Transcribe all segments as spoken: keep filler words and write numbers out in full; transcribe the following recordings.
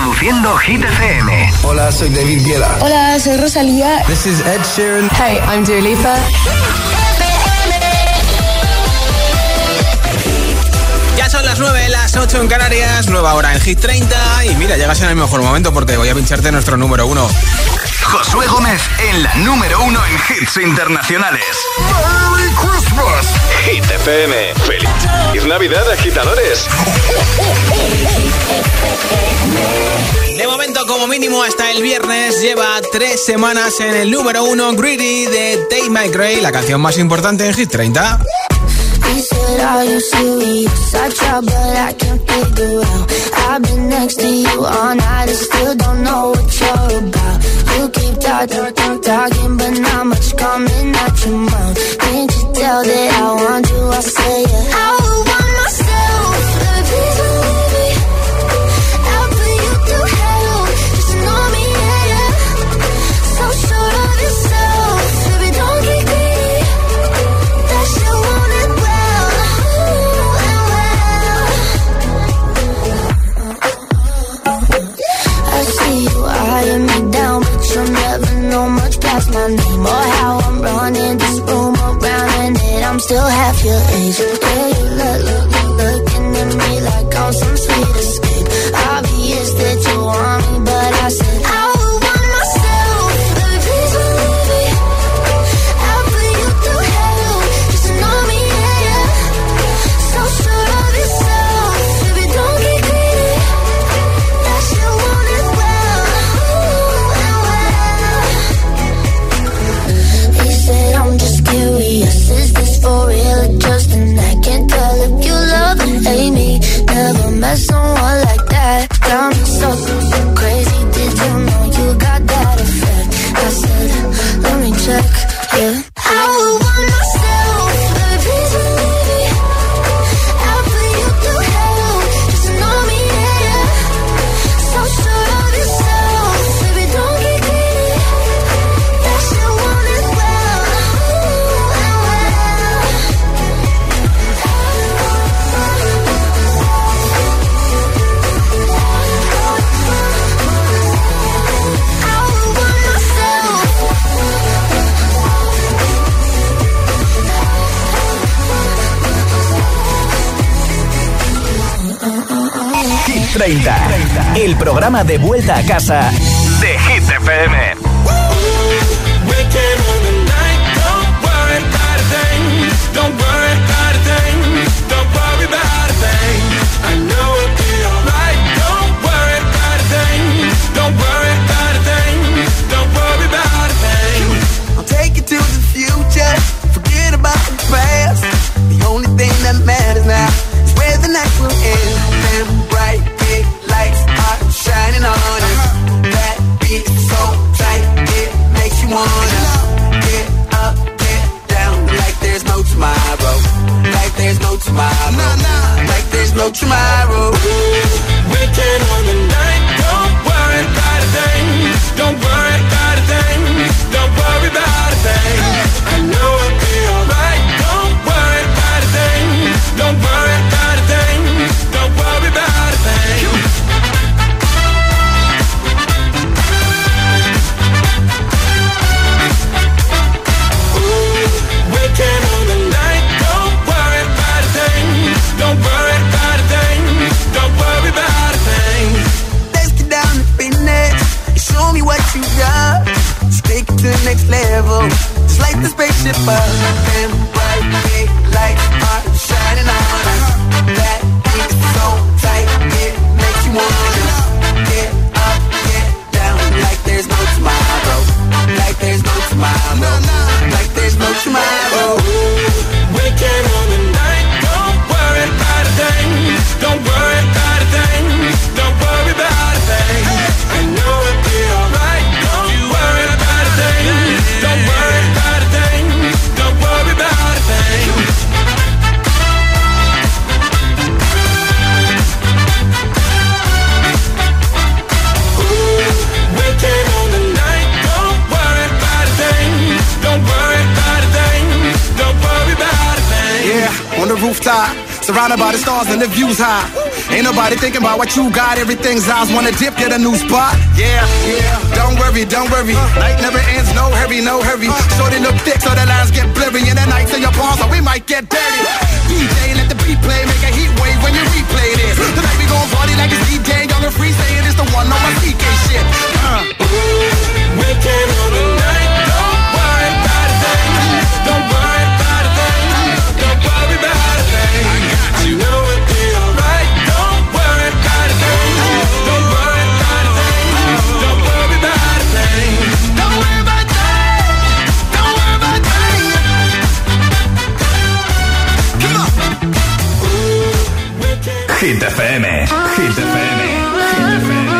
Reproduciendo Hit F M. Hola, soy David Guetta. Hola, soy Rosalía. This is Ed Sheeran. Hey, I'm Dua Lipa. Ya son las nueve, las ocho en Canarias, nueva hora en Hit treinta. Y mira, llegas en el mejor momento porque voy a pincharte nuestro número uno. Josué Gómez en la número uno en hits internacionales. ¡Merry Christmas! Hit F M. ¡Feliz Navidad, agitadores! De momento, como mínimo, hasta el viernes lleva tres semanas en el número uno, Greedy de Tate McRae, la canción más importante en Hit treinta. He said, are you serious? I try, but I can't figure out. I've been next to you all night and still don't know what you're about. You keep talking, talking, talking, but not much coming out your mouth. Can't you tell that I want you? I say yeah. I would want myself, baby, please don't leave me. I'll put you through hell, just know me, yeah, yeah. So sure of yourself, baby, don't get greedy. That shit won't end well, well. I see you eyeing me down, but you'll never know much past my name or how I'm running this room around, and that I'm still half your age. Yeah, you look, look, look, looking at me like I'm some sweet escape. Obvious that you want me, but I said I would want myself. Baby, please don't leave me. I'll put you through hell, just to know me, yeah, yeah. So sure of yourself, baby, don't get greedy. That shit won't end well, well. He said I'm just curious, is this for real or just an act? Can't tell if you love and hate me. Never met someone like that. Got me so, so crazy. Did you know you got that effect? I said, let me check, yeah. I would want myself, baby, please don't leave me. I'll put you through hell, just to know me, yeah, yeah. So sure of yourself, baby, don't get greedy. That shit won't end well, well. I would want myself. Hit treinta, el programa de vuelta a casa de Hit F M. I'll take you to the future, forget about the past. The only thing that matters now is where the night will end. And bright big lights are shining on us. That beat so tight, it makes you wanna get up, get down, like there's no tomorrow, like there's no tomorrow, like there's no tomorrow. Weekend on the night, don't worry about a thing, don't worry about a thing, don't worry about a thing. I know it'll be alright, don't worry about a thing, don't worry about a thing, don't worry about a thing. Weekend on the night, don't worry about a thing, don't worry about a thing, don't worry about a thing. Let's get down to business, show me what you got, just take it to the next level, just like the spaceship up. And bright big lights are shining on us. That beat is so tight, it makes you wanna get up, get down, like there's no tomorrow, like there's no tomorrow, like there's no tomorrow. Weekend on the night, don't worry about a thing, don't worry about a thing, don't worry about a thing. I know it'll be alright, don't worry about a thing, don't worry about a thing, don't worry about a thing. Weekend on the night, don't worry about a thing, don't worry about a thing, don't worry about a thing. Yeah, on the rooftop, surrounded by the stars and the views high. Ain't nobody thinking about what you got. Everything's ours. Wanna dip, get a new spot. Yeah, yeah. Don't worry, don't worry. Night never ends. No hurry, no hurry. Shorty look thick, so the lines get blurry. And the nights in your palms, so we might get dirty. D J, let the beat play. Make a heat wave when you replay this. Tonight we gon' party like it's D J. Young and free, saying it's the one on my C K shit. Uh. We can all the night. Don't worry about a thing. Don't worry about a thing. Don't worry about a thing. I got you. You know it'll be alright. Don't worry about a thing. Don't worry about a thing. Don't worry about a thing. Don't worry about a thing. Don't worry about a thing. Come on. Hit F M. Hit F M. Hit F M.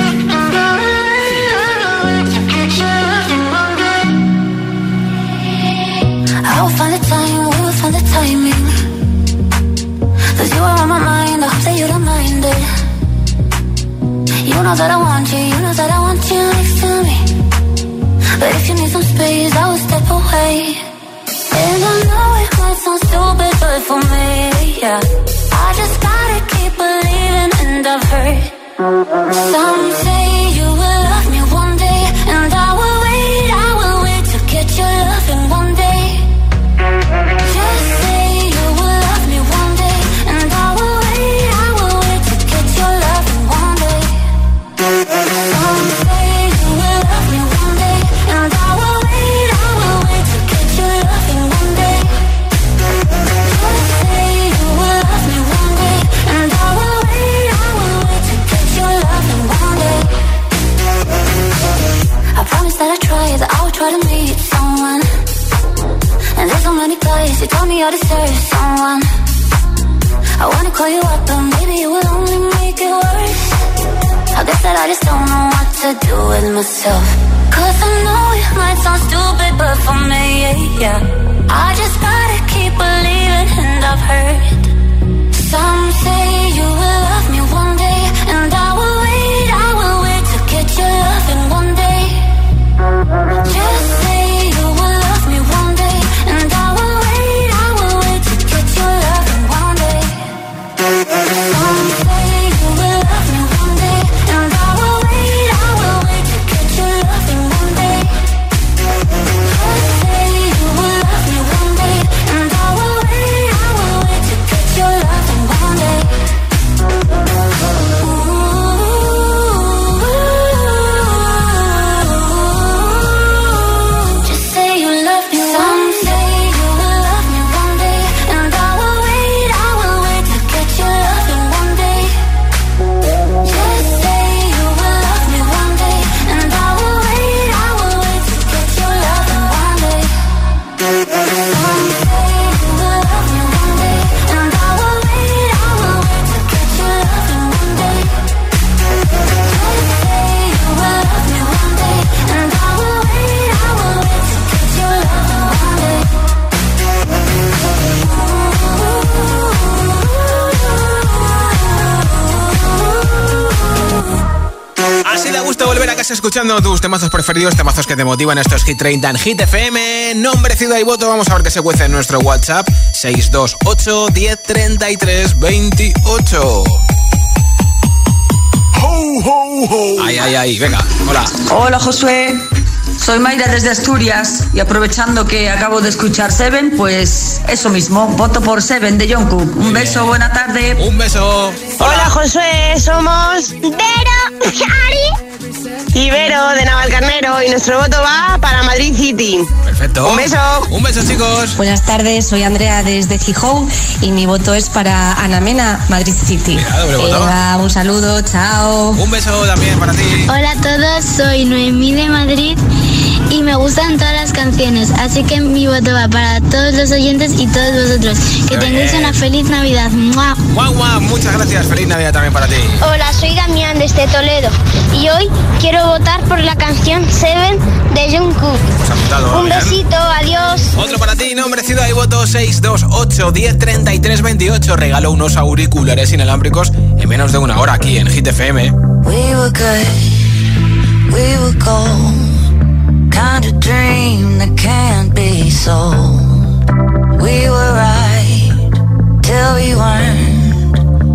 I'll find the time, we'll find the timing. Cause you are on my mind, I hope that you don't mind it. You know that I want you, you know that I want you next to me. But if you need some space, I will step away. And I know it might sound stupid, but for me, yeah, I just gotta keep believing, and I've heard some say you will love me one day. And I will wait, I will wait to get your loving one day. Just say you will love me one day, and I will wait, I will wait to get your loving one day. Some say you will love me one day, and I will wait, I will wait to get your loving one day. Just say you will love me one day, and I will wait, I will wait to get your loving one day. I promise that I try, that I will try to meet someone. And there's so many guys who tell me I deserve someone. I wanna call you up, but maybe it will only make it worse. I guess that I just don't know what to do with myself. Cause I know it might sound stupid, but for me, yeah, yeah, I just gotta keep believing, and I've heard some say you will love me one day. And I will wait, I will wait to get your loving one day. Just say you will love me one day, and I will wait, I will wait to get your loving one day. Some say you will love me one day, and I will wait, I will wait to get your loving one day. Just say you will love me one day, and I will wait, I will wait to get your loving one day. Just say you love me. Some say you will love me one day, and I will wait, I will wait to get your loving one day. Just say you will love me one day, and I will wait, I will wait to get your loving one day. Some say you will love me one day, and I will wait, I will wait to get your loving one day. Just say you will love me one day, and I will wait, I will wait to get your loving one day. Así da gusto volver a casa escuchando tus temazos preferidos, temazos que te motivan. Estos Hit treinta en Hit F M. Nombre, ciudad y voto. Vamos a ver qué se cuece en nuestro WhatsApp seis dos ocho, diez, treinta y tres, veintiocho. Ho, ho, ho. Ay, ay, ay, venga, hola. Hola Josué, soy Mayra desde Asturias y aprovechando que acabo de escuchar Seven, pues eso mismo, voto por Seven de Jungkook. Un beso, buena tarde. Un beso. Hola Josué, somos Vero, Ari y Vero de Navalcarnero y nuestro voto va para Madrid City. Perfecto. Un beso. Un beso, chicos. Buenas tardes, soy Andrea desde Gijón y mi voto es para Ana Mena, Madrid City. Mira, doble voto. Venga, un saludo, chao. Un beso también para ti. Hola a todos, soy Noemí de Madrid y me gustan todas las canciones, así que mi voto va para todos los oyentes y todos vosotros. Que Qué tengáis bien. una feliz Navidad. ¡Mua! Guau, guau, muchas gracias. Feliz Navidad también para ti. Hola, soy Damián desde Toledo y hoy quiero votar por la canción Seven de Jungkook. Hemos apuntado. Un bien. besito, adiós. Otro para ti, nombre, ciudad y voto seis dos ocho, diez, treinta y tres, veintiocho. Regalo unos auriculares inalámbricos en menos de una hora aquí en Hit F M. We were good, we were gold. Kind of dream that can't be sold. We were right till we weren't.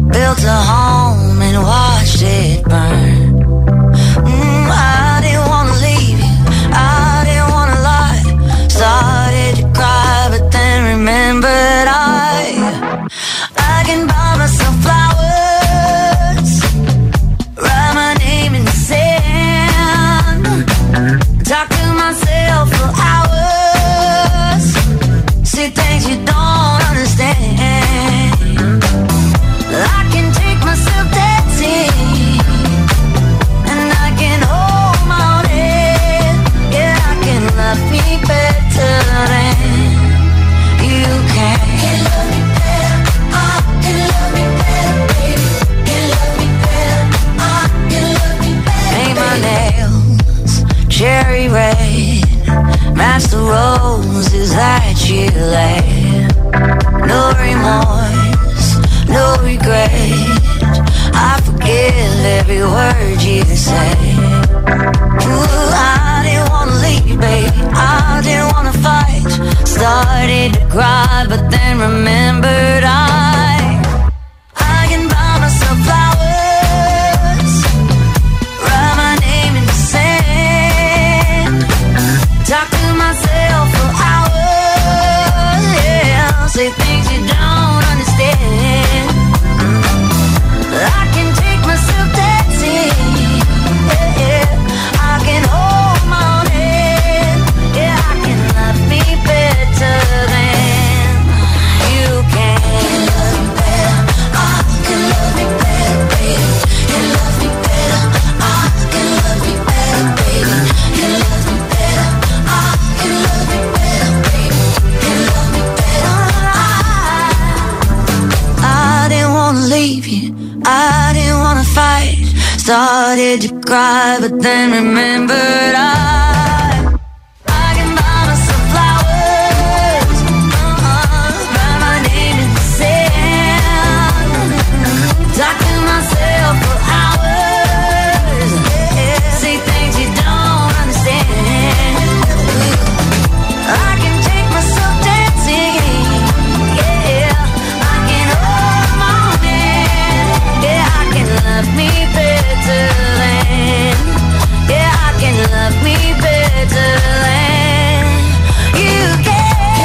built a home and watched it burn. Mm, I didn't wanna leave you, I didn't wanna lie. Started to cry, but then remembered I, I can buy myself flowers, write my name in the sand, talk to myself for hours, see things you don't understand. I can take myself dancing, and I can hold my own head. Yeah, I can love me better than you can. Can love me better, I can love me better, baby. Can love me better, I can love me better. Paint my nails cherry red, match the roses that you laid. No remorse, no regret, I forgive every word you say. Ooh, I didn't wanna leave, baby, I didn't wanna fight. Started to cry, but then remembered I, I can buy myself flowers, write my name in the sand, talk to myself for hours, yeah, say things you don't understand. I can take myself dancing, yeah, yeah. I can hold my own head, yeah, I can love me better than you can. Can love me better, I can love me better, baby. Can love me better, I can love me better, baby. Can love me better, I can love me better, baby. Can love me better, I, I didn't wanna leave you, I didn't wanna fight. Started to cry, but then remembered I, I can buy myself flowers, uh-uh, write my name in the sand, talk to myself for hours, yeah, say things you don't understand. I can take myself dancing, yeah, I can hold my own hand, yeah, I can love me better than, yeah, I can love me better than you can.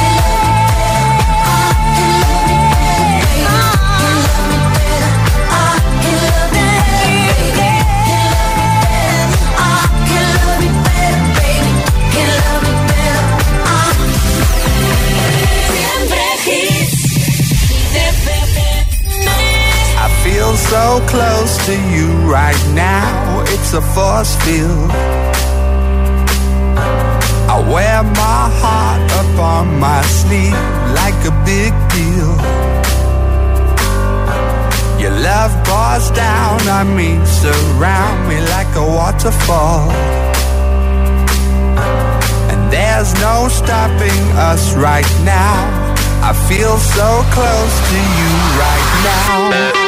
I feel so close to you right now, it's a force field. I wear my heart up on my sleeve like a big deal. Your love pours down on me, surround me like a waterfall. And there's no stopping us right now, I feel so close to you right now.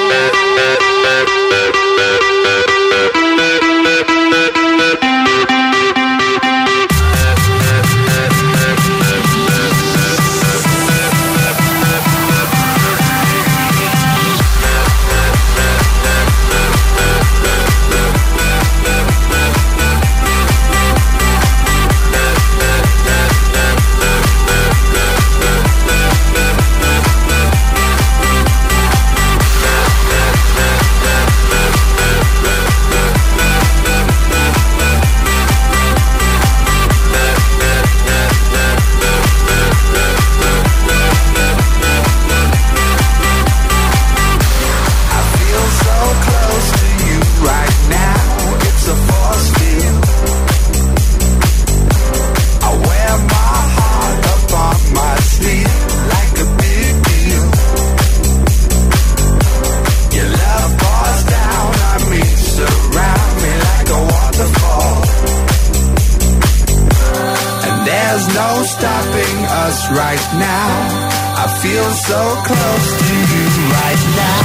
Stopping us right now, I feel so close to you right now.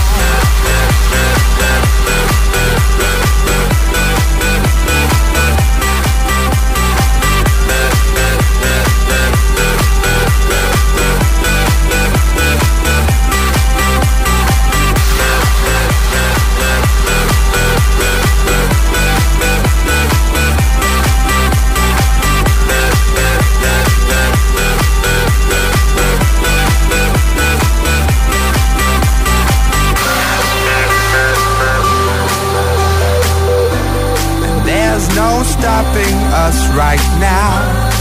stopping us right now.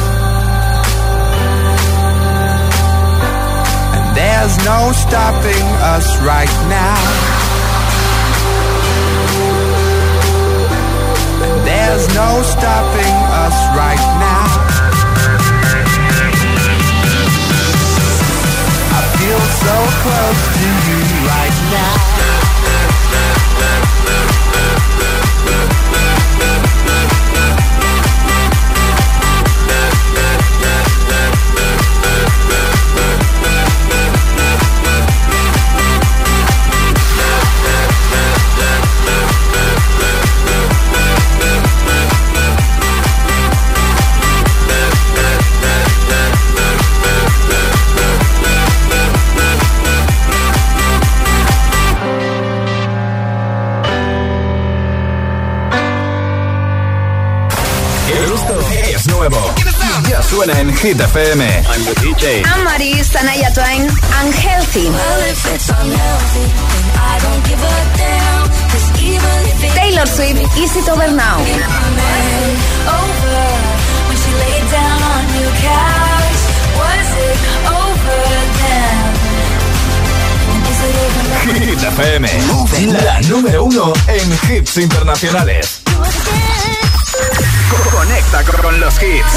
And there's no stopping us right now. And there's no stopping us right now. I feel so close to you right now. Ya suena en Hit F M. I'm the D J. I'm Maris, Anaya Twain, Unhealthy. Well, if it's unhealthy, then I don't give a damn. 'Cause even if it Taylor Swift, Is It Over Now. over, when she laid down on your couch, was it over then? Is it over now? Hit F M, la número uno en hits internacionales. Conecta con los hits.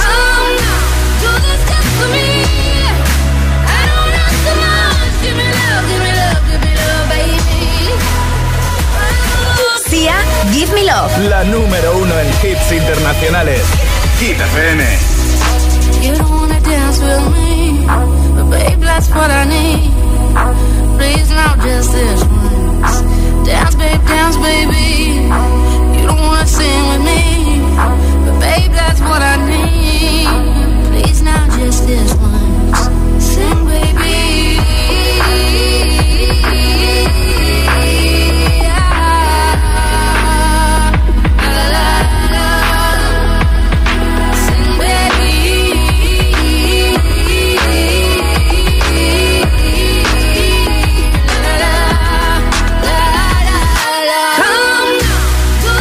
Sia, Give Me Love. La número uno en hits internacionales. Hit F M. You don't wanna dance with me, but babe, that's what I need. Please, now just this once. Dance, babe, dance, baby. You don't wanna sing with me, but babe, that's what I need. Please, now just this once. Sing, baby. Come to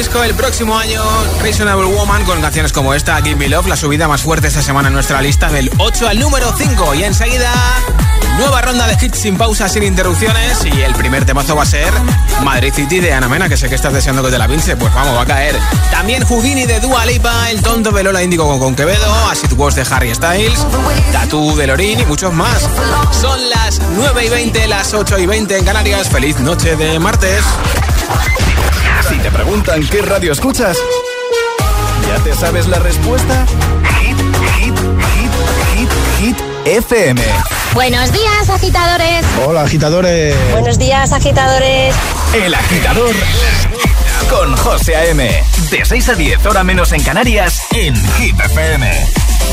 disco el próximo año, Reasonable Woman, con canciones como esta, Give Me Love, la subida más fuerte esta semana en nuestra lista, del ocho al número cinco. Y enseguida, nueva ronda de hits sin pausa, sin interrupciones. Y el primer temazo va a ser Madrid City de Ana Mena, que sé que estás deseando que te la pinche. Pues vamos, va a caer. También Houdini de Dua Lipa, El Tonto de Lola Índigo con, con Quevedo, As It Was de Harry Styles, Tattoo de Lorin y muchos más. Son las nueve y veinte, las ocho y veinte en Canarias. Feliz noche de martes. Si te preguntan qué radio escuchas, ¿ya te sabes la respuesta? Hit, hit, hit, hit, hit F M. Buenos días, agitadores. Hola, agitadores. Buenos días, agitadores. El Agitador con José A M. De seis a diez, hora menos en Canarias, en Hit F M.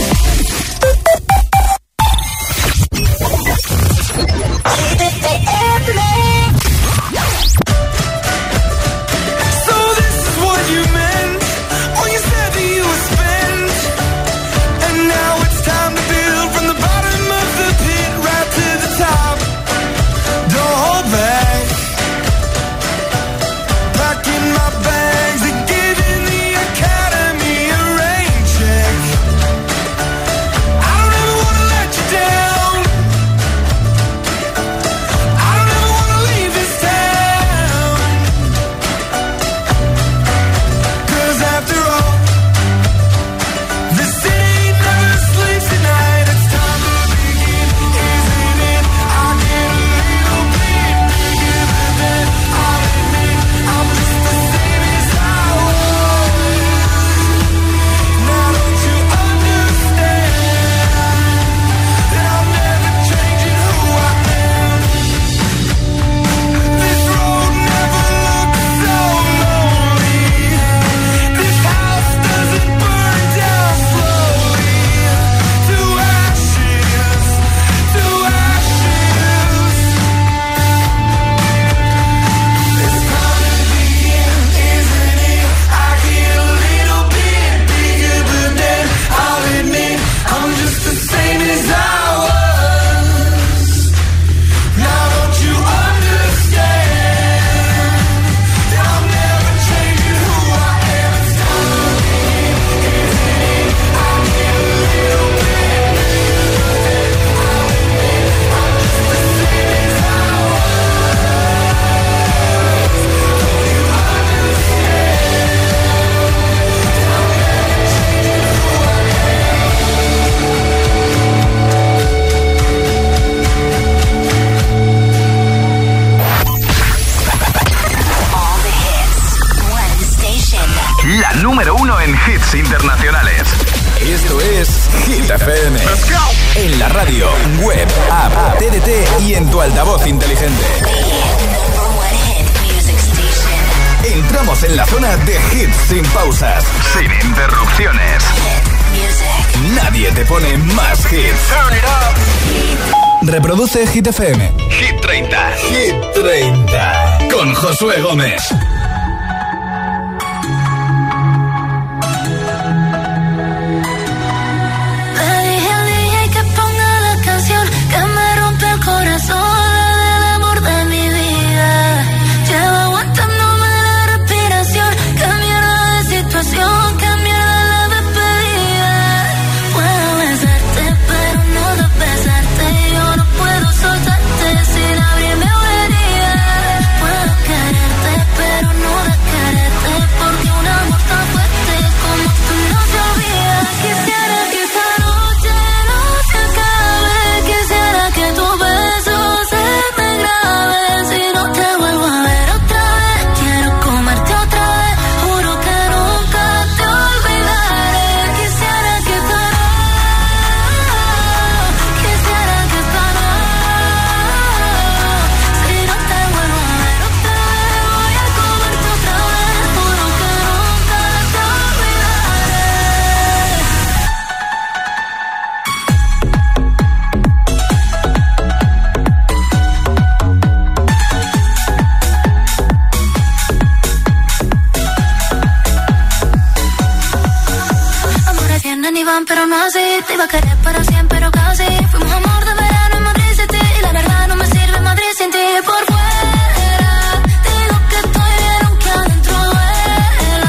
Internacionales. Esto es Hit F M. En la radio, web, app, T D T y en tu altavoz inteligente. Entramos en la zona de hits sin pausas, sin interrupciones. Nadie te pone más hits. Reproduce Hit F M. Hit treinta. Hit treinta. Con Josué Gómez. Pero no así, te iba a querer para siempre, pero casi. Fuimos amor de verano en Madrid City. Y la verdad no me sirve Madrid sin ti. Por fuera, digo que estoy bien aunque adentro duela.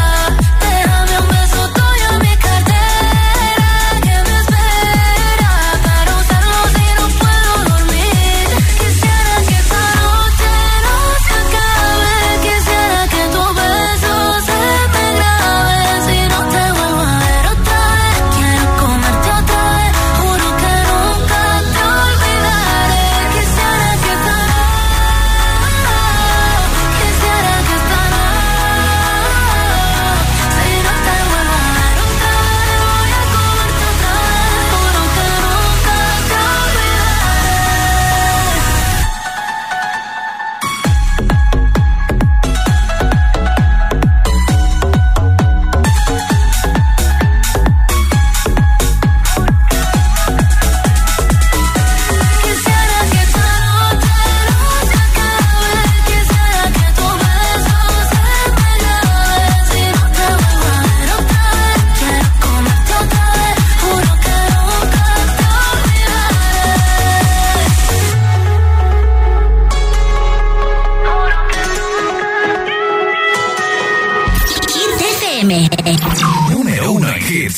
hits.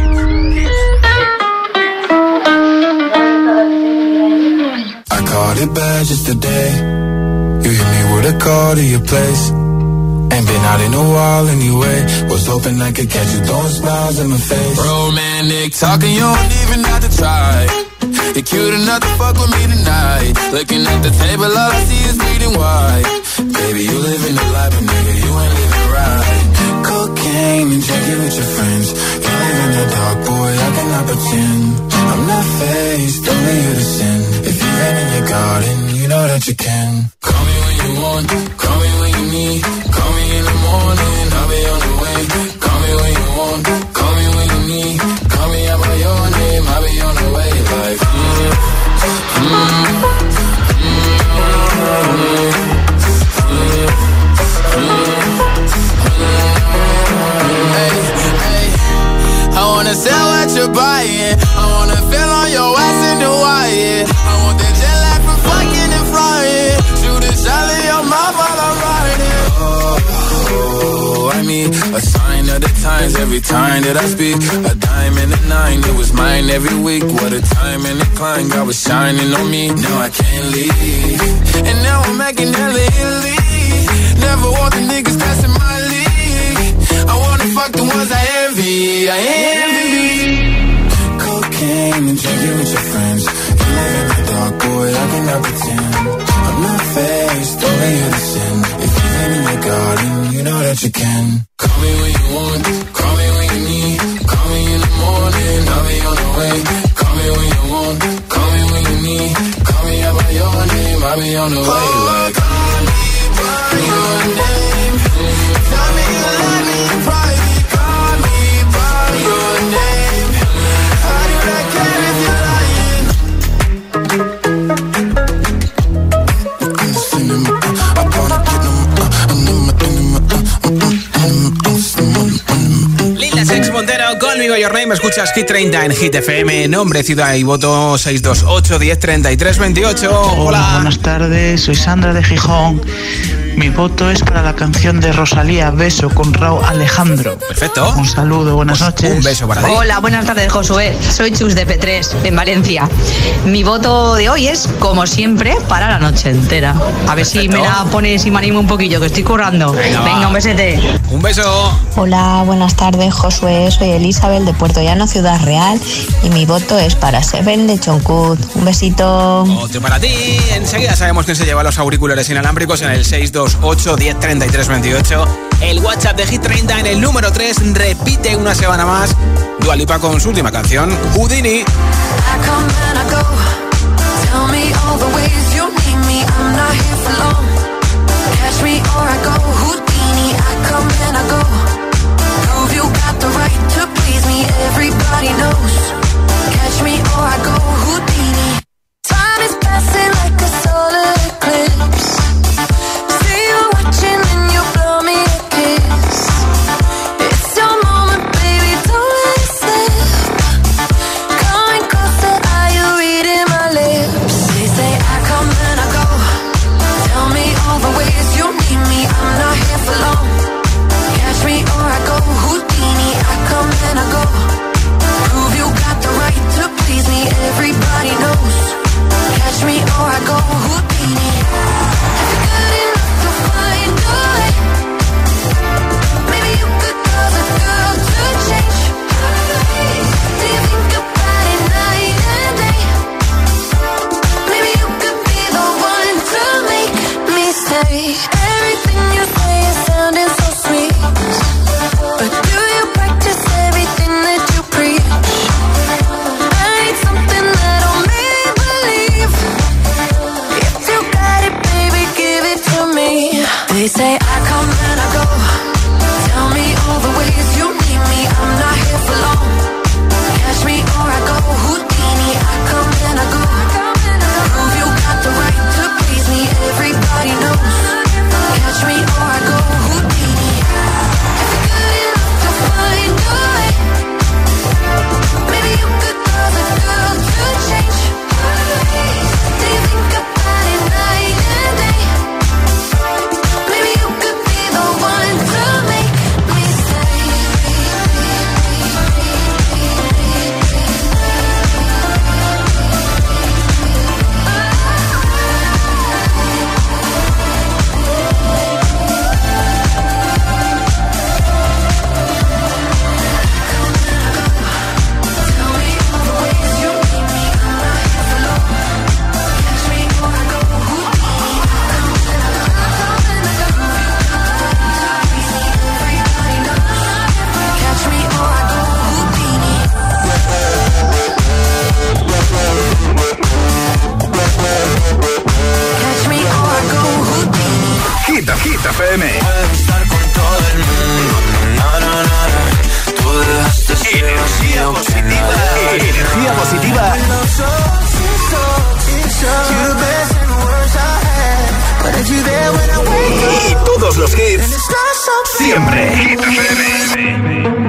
I caught it bad just today. You hit me with a call to your place. Ain't been out in a while anyway. Was hoping I could catch you throwing smiles in my face. Romantic talking, you don't even have to try. You're cute enough to fuck with me tonight. Looking at the table, all I see is bleeding white. Baby, you living the life, but nigga, you ain't living right. Cocaine and drinking with your friends. You live in the dark, boy, I cannot pretend. I'm not faced, only you to sin. If you ain't in your garden, you know that you can. Call me when you want, call me when you need. Call me in the morning, I'll be on the way. Call me when you want, call me when you need. Call me out by your name, I'll be on the way. Like, mm, mm, mm, hey, hey. I wanna sell what you're buying. I wanna feel on your ass in the wire. I want that jet lag from fucking and flying. Shoot a shot in your mouth while I'm riding. Oh, I need a sign of the times every time that I speak. A dime and a nine, it was mine every week. What a time and a climb, God was shining on me. Now I can't leave, and now I'm making hella Italy. Never want the niggas that's in my league. I wanna fuck the ones I envy, I envy. Cocaine and drinking with your friends. You live in the dark, boy, I cannot pretend. I'm not faced, only you to sin. If you ain't in your garden, you know that you can. Call me when you want, call me when you need. Call me in the morning, I'll be on the way. Call me when you want, call me when you need. Call me out by your name, I'll be on the way. Like, call me by your name. Tell me you love me in private. Call me by your name. How do I care if you're lying? Lil Nas X Montero, Call Me By Your Name. Escuchas Hit treinta en Hit F M. Nombre, ciudad y voto seis dos ocho, diez, treinta y tres, veintiocho. Hola. Hola, buenas tardes. Soy Sandra de Gijón. Mi voto es para la canción de Rosalía, Beso, con Rauw Alejandro. Perfecto. Un saludo, buenas pues noches. Un beso para ti. Hola, buenas tardes, Josué. Soy Chus de P tres, en Valencia. Mi voto de hoy es, como siempre, para la noche entera. A ver Perfecto. Si me la pones y me animo un poquillo, que estoy currando. Venga, Venga un besete. Un beso. Hola, buenas tardes, Josué. Soy Elizabeth de Puerto Llano, Ciudad Real. Y mi voto es para Seven de Jungkook. Un besito. Otro para ti. Enseguida sabemos quién se lleva los auriculares inalámbricos en el seis dos ocho, diez, treinta y tres, veintiocho. El WhatsApp de Hit treinta en el número tres repite una semana más. Dua Lipa con su última canción, Houdini. Time is passing like a solar eclipse. See you watching and you blow me a kiss. It's your moment, baby, don't let it slip. Coming close todos los hits, siempre. Hit F M.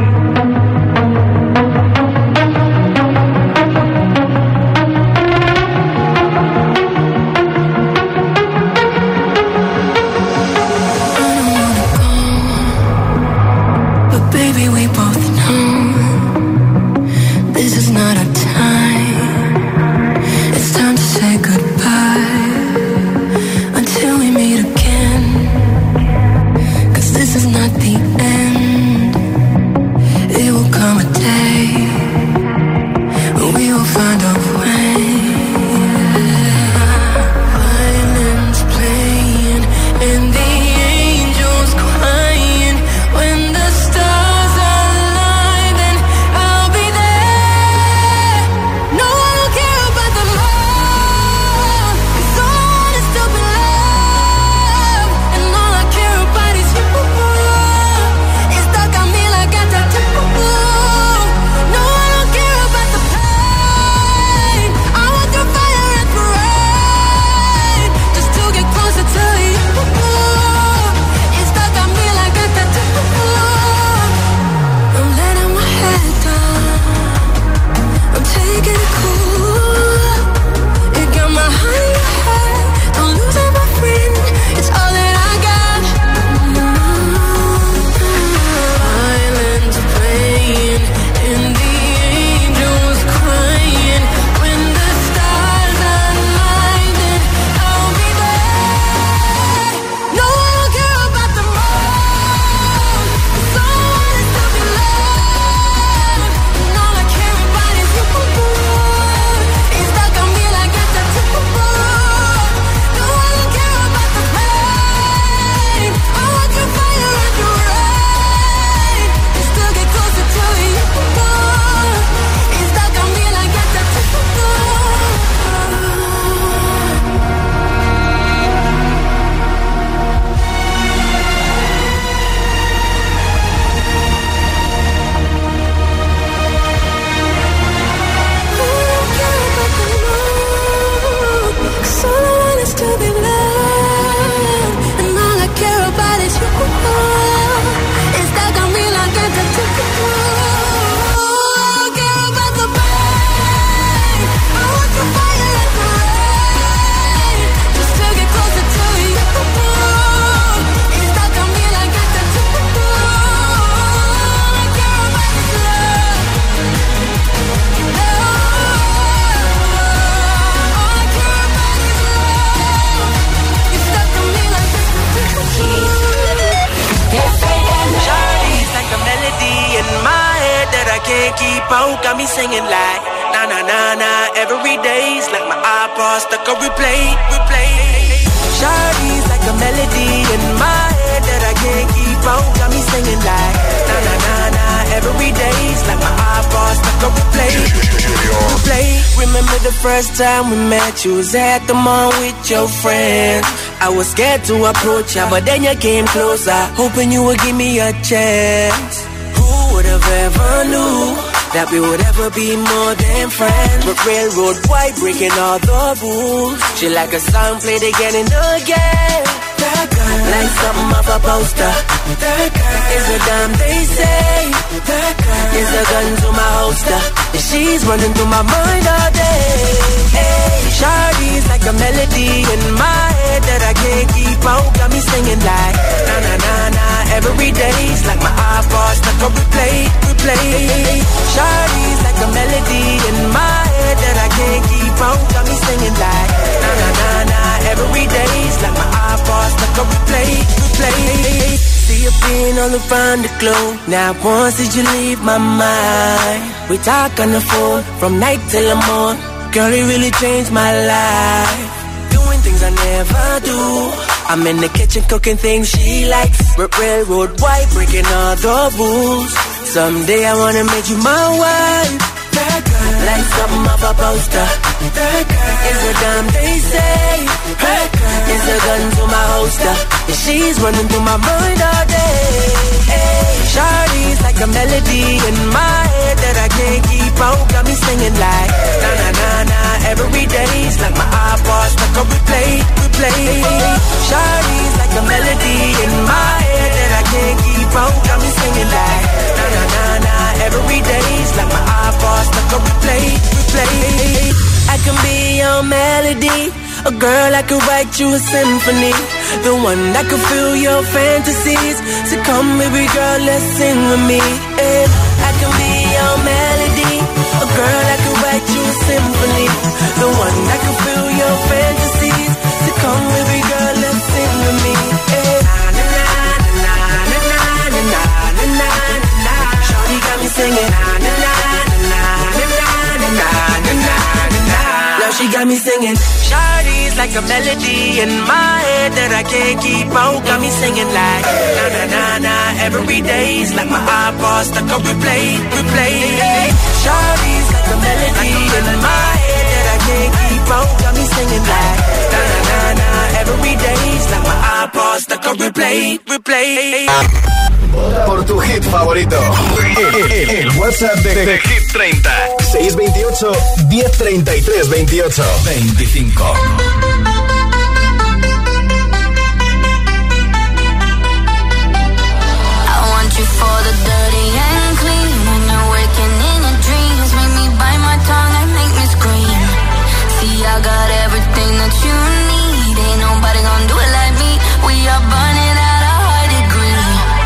Got me singing like na na na na every day's like my iPod stuck on replay, replay. Shawty's like a melody in my head that I can't keep out. Got me singing like na na na na every day's like my iPod stuck on replay, replay. Remember the first time we met? You was at the mall with your friends. I was scared to approach ya, but then you came closer, hoping you would give me a chance. Who would have ever knew that we would ever be more than friends? But railroad white breaking all the rules. She like a song played again and again. That girl, like something off a poster. That girl is a damn they say. That girl is a gun to my holster. And she's running through my mind all day. Hey, Shawty's like a melody in my head that I can't keep out. Got me singing like na na na na every day's like my iPod stuck on replay, replay. Shawty's like a melody in my head that I can't keep out. Got me singing like na na na na every day's like my iPod stuck on replay, replay. See you being all around the globe. Now once did you leave my mind? We talk on the phone from night till the morning. Girl, it really changed my life. Doing things I never do. I'm in the kitchen cooking things she likes. Railroad white breaking all the rules. Someday I wanna make you my wife. That girl, like something off a poster. That girl is a damn they say. That girl is a gun to my holster. And she's running through my mind all day. Hey, Shawty's like a melody in my head that I can't keep out. Got me singing like na na na na every day's like my iPod stuck on replay, replay. Shawty's like a melody in my your melody. A girl that could write you a symphony. The one that could fill your fantasies. So come baby girl, let's sing with me. And I can be your melody. A girl that could write you a symphony. The one that could fill your fantasies. So come baby girl, let's sing with me. And na na na na na na na na na na. Shawty got me singing na na na na na na na na na na. Now she got me singing. Shawty's like a melody in my head that I can't keep out. Got me singing like na na na na. Every day's like my iPod stuck on replay, replay. Shawty's like a melody in my head that I can't keep out. Got me singing like na na na na. Every day's like my iPod stuck on replay, replay. Vota por tu hit favorito. El, el, el WhatsApp de, de Hit treinta. seis veintiocho, diez treinta y tres, veintiocho, veinticinco. You for the dirty and clean. When you're waking in your dreams, make me bite my tongue and make me scream. See, I got everything that you need. Ain't nobody gonna do it like me. We are burning at a high degree.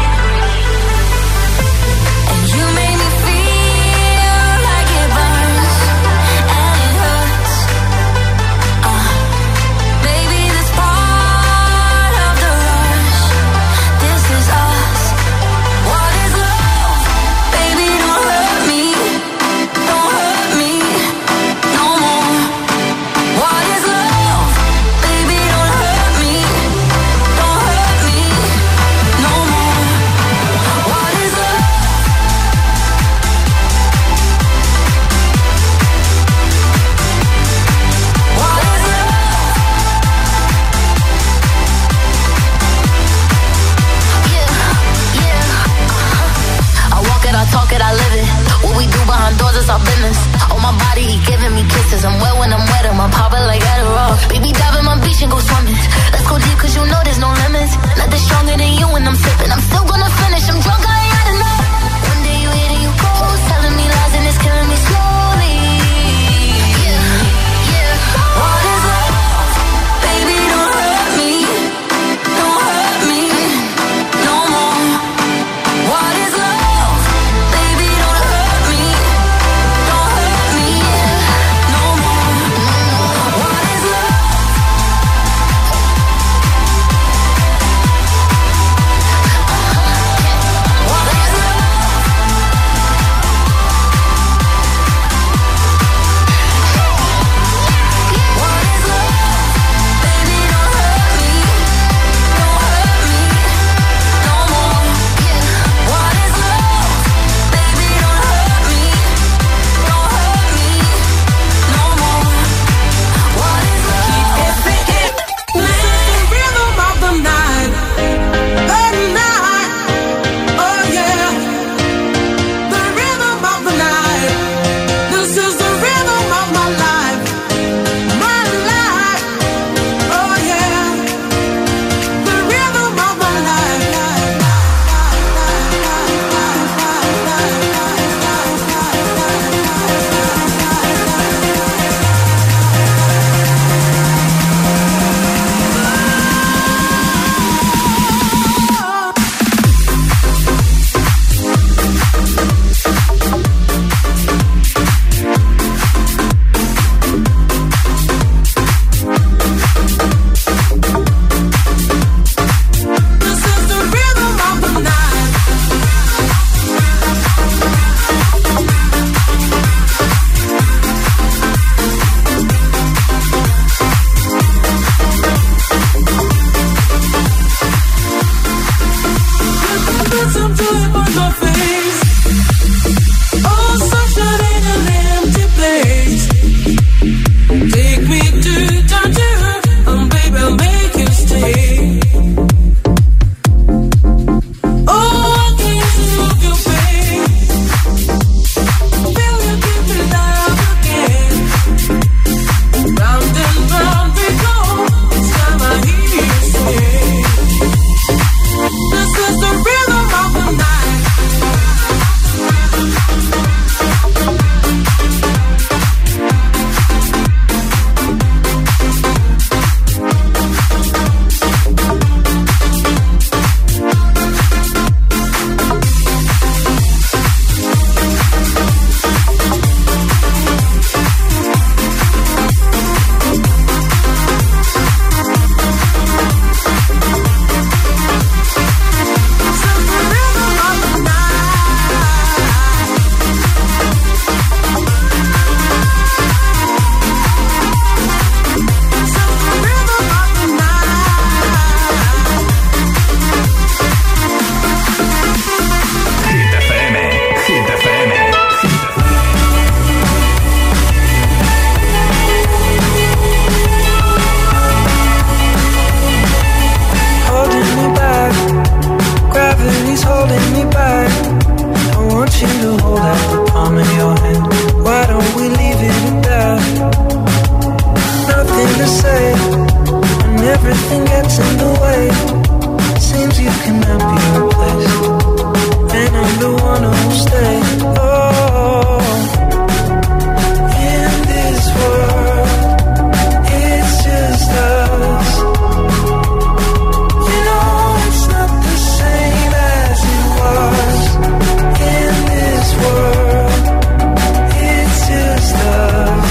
And you make me feel like it burns and it hurts. Uh, baby, this part of the rush. This is us. What is love? Baby, don't hurt me. Don't hurt me no more. What is love? Baby, don't hurt me. Don't hurt me no more. What is love? What is love? Yeah, yeah. I walk it, I talk it, I live it. What we do behind doors is our business. On my body, he giving me kisses. I'm wet when I'm wet, I'm popping like Adderall. Baby, dive in my beach and go swimming. Let's go deep, cause you know there's no limits. Nothing stronger than you when I'm sipping. I'm still gonna finish, I'm drunk, I ain't had enough. One day you hit and you go, telling me lies and it's killing me slowly. Yeah, yeah. What is love? Baby, don't hurt me. Don't hurt me no more. What is love? Baby, don't hurt me. Don't hurt me no more. What is love? What everything gets in the way. Seems you cannot be replaced, and I'm the one who'll stay. Oh, in this world, it's just us. You know it's not the same as it was. In this world, it's just us.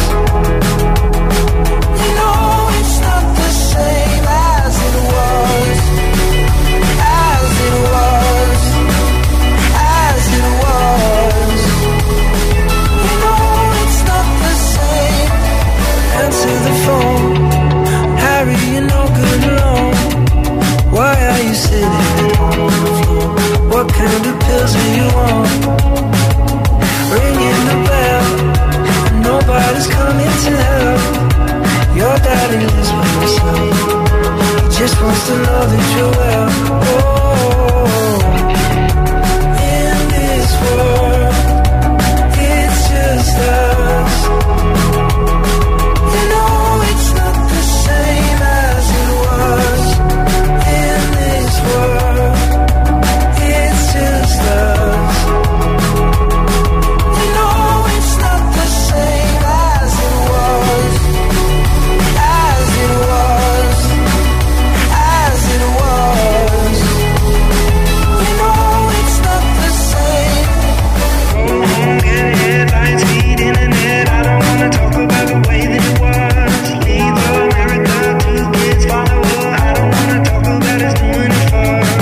You know it's not the same as it was. As it was. As it was. You know it's not the same. Answer the phone. Harry, you're no good alone. Why are you sitting on the floor? What kind of pills are you on? Ringing the bell, and nobody's coming to help. Your daddy lives by himself. He just wants to know that you're well. Oh, in this world, it's just us. You know it's not the same as it was. In this world, it's just us. You know it's not the same as it was. As it was. As it was. You know it's not the same. Go home, get headlines, feed internet. I don't wanna talk about the way that it was. Leave America, two kids follow her. I don't wanna talk about us doing it first.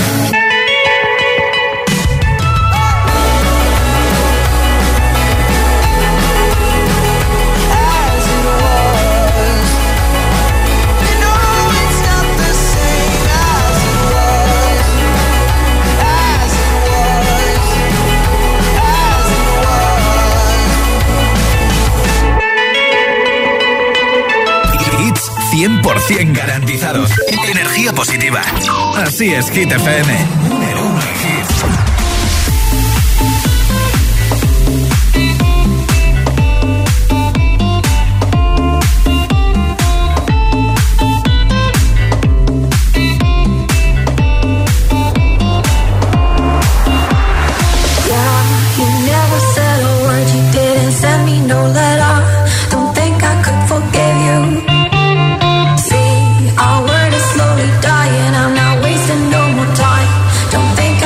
As it was. You know it's not the same as it was. As it was. As it was. Hits cien por ciento garantizados. Energía positiva. Así es, Hit F M. Número uno en hits. Yeah, you never said a word, you didn't send me no letter. Don't think I could forgive you. See, our word is slowly dying, I'm not wasting no more time. Don't think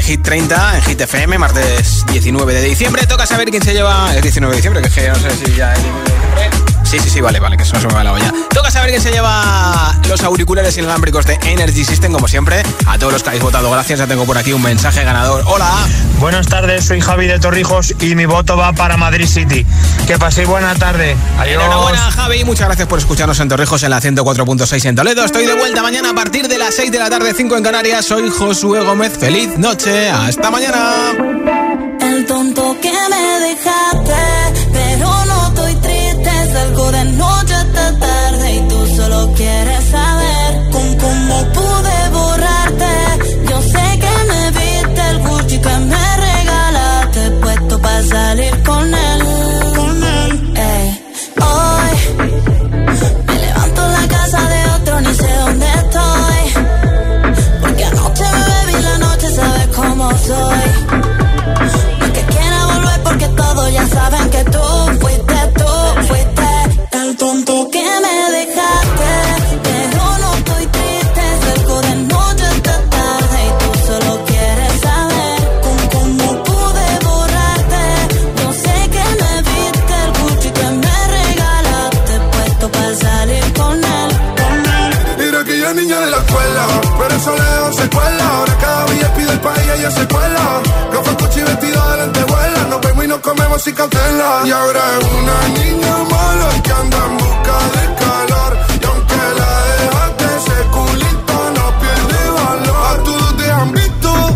Hit treinta en Hit F M, martes diecinueve de diciembre. Toca saber quién se lleva... Es diecinueve de diciembre, que es que no sé si ya es diecinueve de diciembre. Sí, sí, sí, vale, vale, que eso no se me va la olla. Toca saber quién se lleva los auriculares inalámbricos de Energy System, como siempre. A todos los que habéis votado, gracias. Ya tengo por aquí un mensaje ganador. Hola. Buenas tardes, soy Javi de Torrijos y mi voto va para Madrid City. Que paséis buena tarde. Adiós. Enhorabuena, Javi. Muchas gracias por escucharnos en Torrijos en la ciento cuatro punto seis en Toledo. Estoy de vuelta mañana a partir de las seis de la tarde, cinco en Canarias. Soy Josué Gómez. Feliz noche. Hasta mañana. El tonto que me dejaste, pero no estoy triste. Salgo de noche hasta tarde y tú solo quieres saber con cómo pude borrarte. Yo sé que me viste el Gucci que me regalaste, puesto para salir con él. Con él. Ey. Hoy me levanto en la casa de otro, ni sé dónde estoy, porque anoche me bebí la noche, sabes cómo soy. Porque todos ya saben que tú fuiste, tú fuiste el tonto que me dejaste. Pero no estoy triste, salgo de noche hasta tarde y tú solo quieres saber con cómo pude borrarte. Yo sé que me viste el Gucci que me regalaste, puesto para salir con él, con él. Mira que ya niña de la escuela, pero eso lejos se cuela. Ahora cada día pide el país y ella se cuela. Gafas, Gucci, vestido de lentejuela. Nos vemos y nos comemos sin cautela. Y ahora es una niña mala que anda en busca de calor. Y aunque la dejaste, ese culito no pierde valor. A todos te han visto.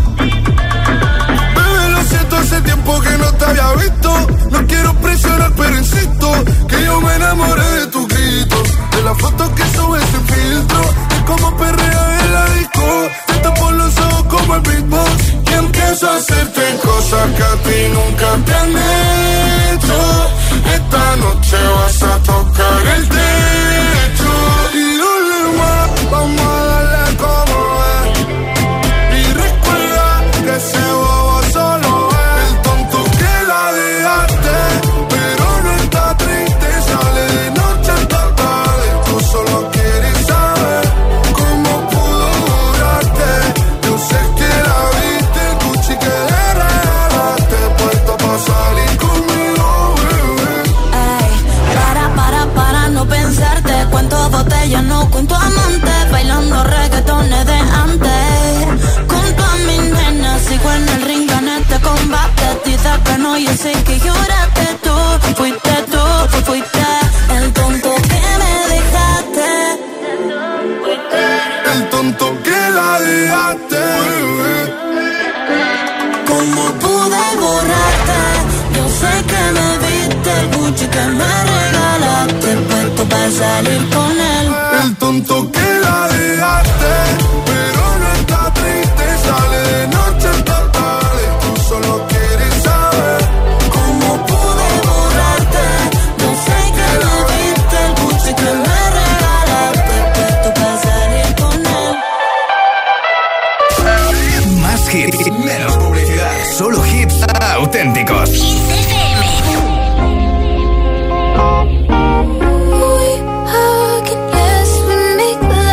Bebé, lo siento, hace tiempo que no te había visto. No quiero presionar, pero insisto que yo me enamoré de tus gritos, de las fotos que subes sin filtro, de cómo perrea en la disco. Te tapo los ojos como el beatbox y empiezo a hacerte cosas que a ti nunca te han hecho. Esta noche vas a tocar el techo y dale más, vamos a darle como es. Y recuerda que ese bobo solo es el tonto que la dejaste, pero no está triste, sale de noche hasta tarde. Tú solo quieres saber cómo pudo durarte. Yo sé que la viste, el Gucci que le regalaste, puesto pa' salir conmigo, bebé. Ey, para, para, para no pensarte. Cuento botellas, no cuento amantes. Bailando reggaetones de antes. Con todas mis nenas, sigo en el ring, gané este combate. Dices que no, yo sé que lloraste. Tú fuiste tú, fuiste el tonto que me dejaste. El tonto que la dejaste, bebé. ¿Cómo pude borrarte? Yo sé que me viste el Gucci que me regalaste, puesto para salir con él. El tonto que la dejaste, pero no está triste, sale de noche hasta tarde. Tú solo quieres saber cómo pude borrarte. Yo sé que me viste el Gucci que me regalaste, puesto para salir con él. Más hits, menos publicidad. Solo hits auténticos. We hug and yes, we make love.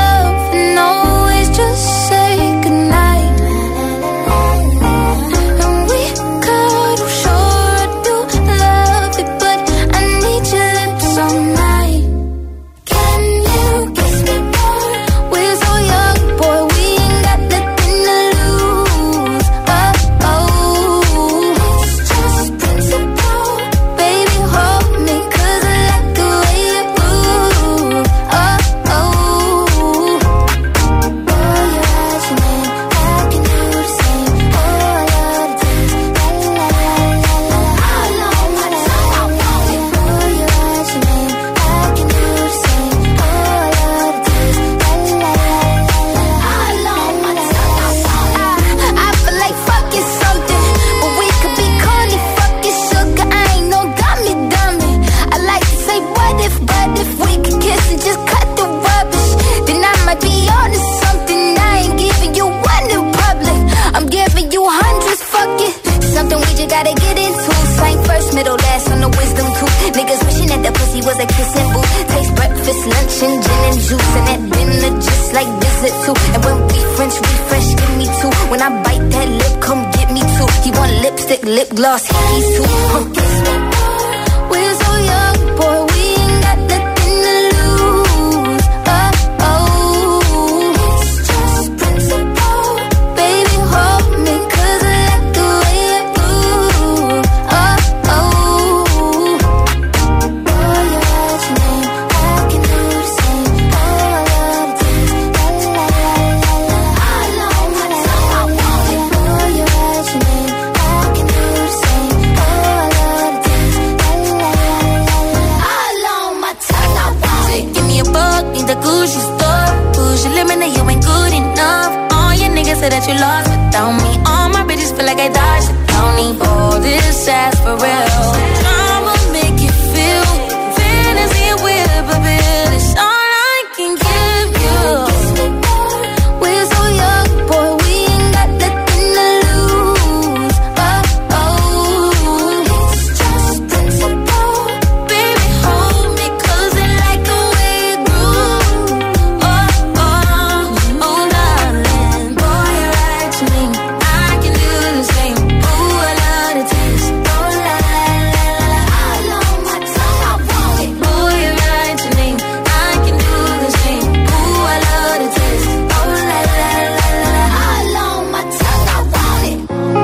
lip gloss, hickey too. Huh. We're so young, boy, we ain't got nothing to lose. Oh, oh, it's just principle. Baby, hold me, 'cause I like the way you move. Oh, oh, boy, you write your name, I can do the same. Oh, I love this, la la la la la. All on my tongue, I want it. Boy, you write your name, I can do the same. Oh, I love this, la la la la la. All on my tongue, I want it. Give me a buck, need the Gucci store. Push your limit, now you ain't good enough. All your niggas say that you lost without me. All my bitches feel like I dodged the county. All this ass for real. I'ma make you feel fantasy with a bill. It's all I can give you. We're so young, boy, we ain't got nothing to lose. Oh, oh, it's just principle. Baby, hold me, 'cause I like the way you groove. Oh, oh, oh, darling. Boy, you write your name, I can do the same. Ooh, I love the taste. Oh, la, la, la, la. All on my tongue, I want it. Boy, you write your name, I can do the same. Ooh, I love the taste. Oh, la, la, la, la. All on my tongue, I want it.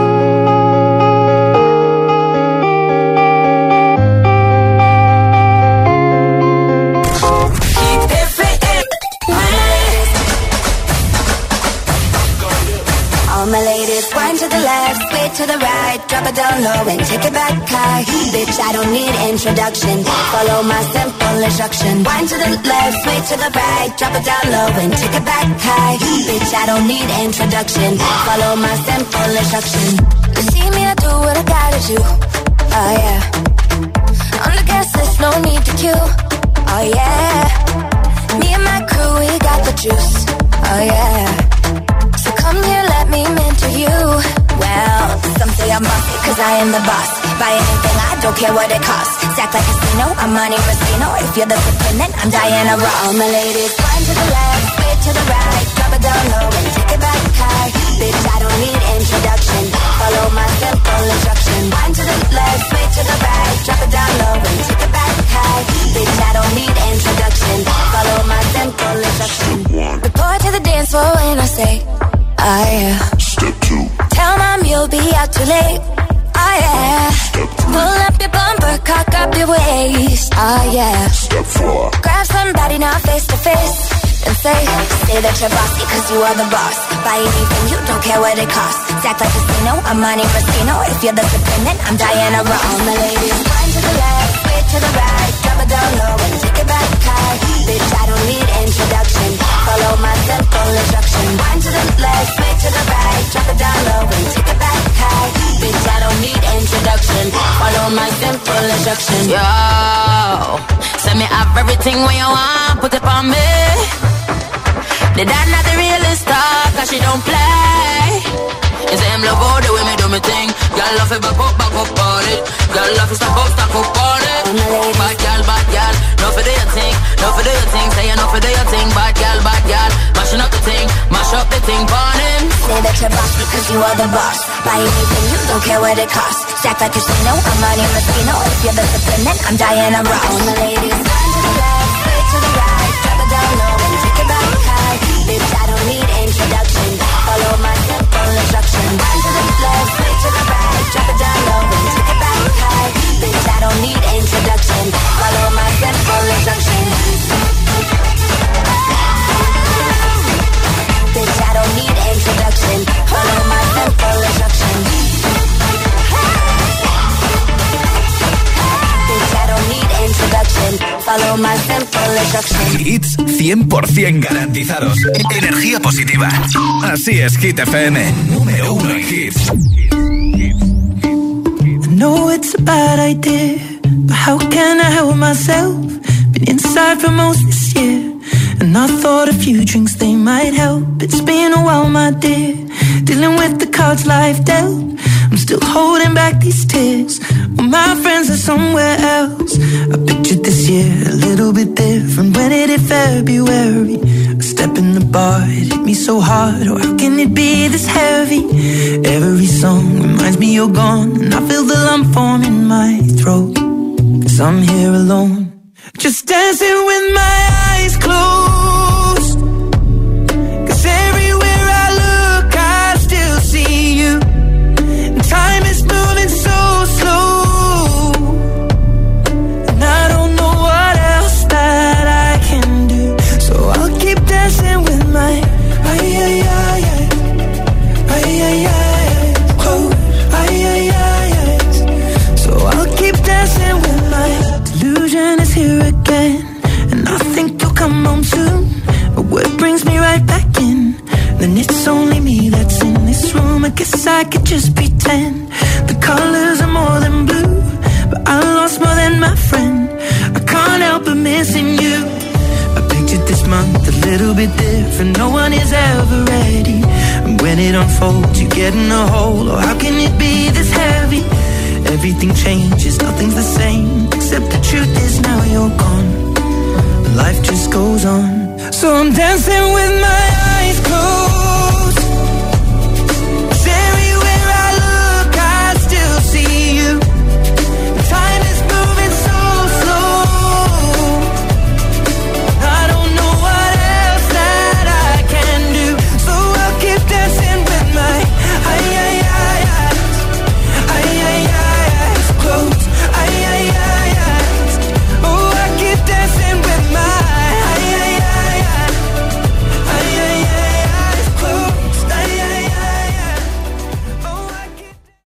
All my ladies, wind to the left, sway to the right, drop it down low and take it back high. Bitch, I don't need introduction. Follow my simple instruction. Wind to the left, sway to the right, drop it down low and take it back high. Bitch, I don't need introduction. Follow my simple instruction. You see me, I do what I gotta do. Oh yeah. On the gas list, no need to queue. Oh yeah. Me and my crew, we got the juice. Oh yeah. So come here, let me mentor you. Well, some say I'm bossy, 'cause I am the boss. Buy anything, I don't care what it costs. Stack like a casino, I'm Monte Rustino. If you're the supreme, then I'm Diana Ross. All my ladies, wind to the left, sway to the right, drop it down low and take it back high. Bitch, I don't need introduction. Follow my simple instruction. Wind to the left, sway to the right, drop it down low and take it back high. Bitch, I don't need introduction. Follow my simple instruction. Report to the dance floor when I say, oh yeah. Step two. Tell mom you'll be out too late. Oh yeah. Step three. Pull up your bumper, cock up your waist. Oh yeah. Step four. Grab somebody now face to face and say, say that you're bossy 'cause you are the boss. Buy anything, you don't care what it costs. Stack like a casino, I'm Monte Rustino. If you're the supreme, then I'm Diana Ross. All my ladies, wind to the left, sway to the right, drop it down low and take it back high. Bitch, I don't need introduction. Follow my simple instruction. Wind to the left, sway to the right, drop it down low and take it back high. Bitch, I don't need introduction. Follow my simple instruction. Yo, send me up everything when you want, put it on me. The dad not the realest star, 'cause she don't play. You say him love all the way me do me thing. Girl love it back up, back up on it. Girl love it stop up, stop up on it. Bad girl, bad girl, no for do your thing, no for do your thing. Say you no for do your thing, bad girl, bad girl. Mashing up the thing, mash up the thing, burn him. Say that you're boss because you are the boss. Buy anything, you don't care what it costs. Stack like a casino, I'm Monte Rustino. If you're the supreme, then I'm Diana Ross. All my ladies, wind to the left, sway to the right, drop it down low and take it back high. Bitch, I don't need introduction. Follow my simple instruction. Wind to the left, sway to the right, drop it down low and take it back high. Bitch, I don't need introduction. Follow my simple instruction. Bitch, I don't need introduction. Follow my simple instruction. Bitch, I don't need introduction. Follow my simple instruction. Hits cien por ciento garantizados. Energía positiva. Así es, Hit F M. Número uno en hits. I know it's a bad idea, but how can I help myself? Been inside for most this year, and I thought a few drinks they might help. It's been a while, my dear, dealing with the cards life dealt. I'm still holding back these tears, well, my friends are somewhere else. I pictured this year a little bit different when it hit February. A step in the bar, it hit me so hard. Oh, how can it be this heavy? Every song reminds me you're gone, and I feel the lump form in my throat, 'cause I'm here alone, just dancing with my eyes closed. 'Cause everywhere I look, I still see you. And time is moving so slow, and I don't know what else that I can do. So I'll keep dancing with my ay ay ay ay ay ay ay close ay ay ay ay. So I'll keep dancing with my delusion is here again, and I think you'll come home soon. But what brings me right back in? Then it's only me that's in this room. I guess I could just pretend the colors are more than blue, but I lost more than my friend. I can't help but missing you. I pictured this month a little bit different. No one is ever ready, and when it unfolds, you get in a hole. Oh, how can it be this heavy? Everything changes, nothing's the same, except the truth is now you're gone. Life just goes on. So I'm dancing with my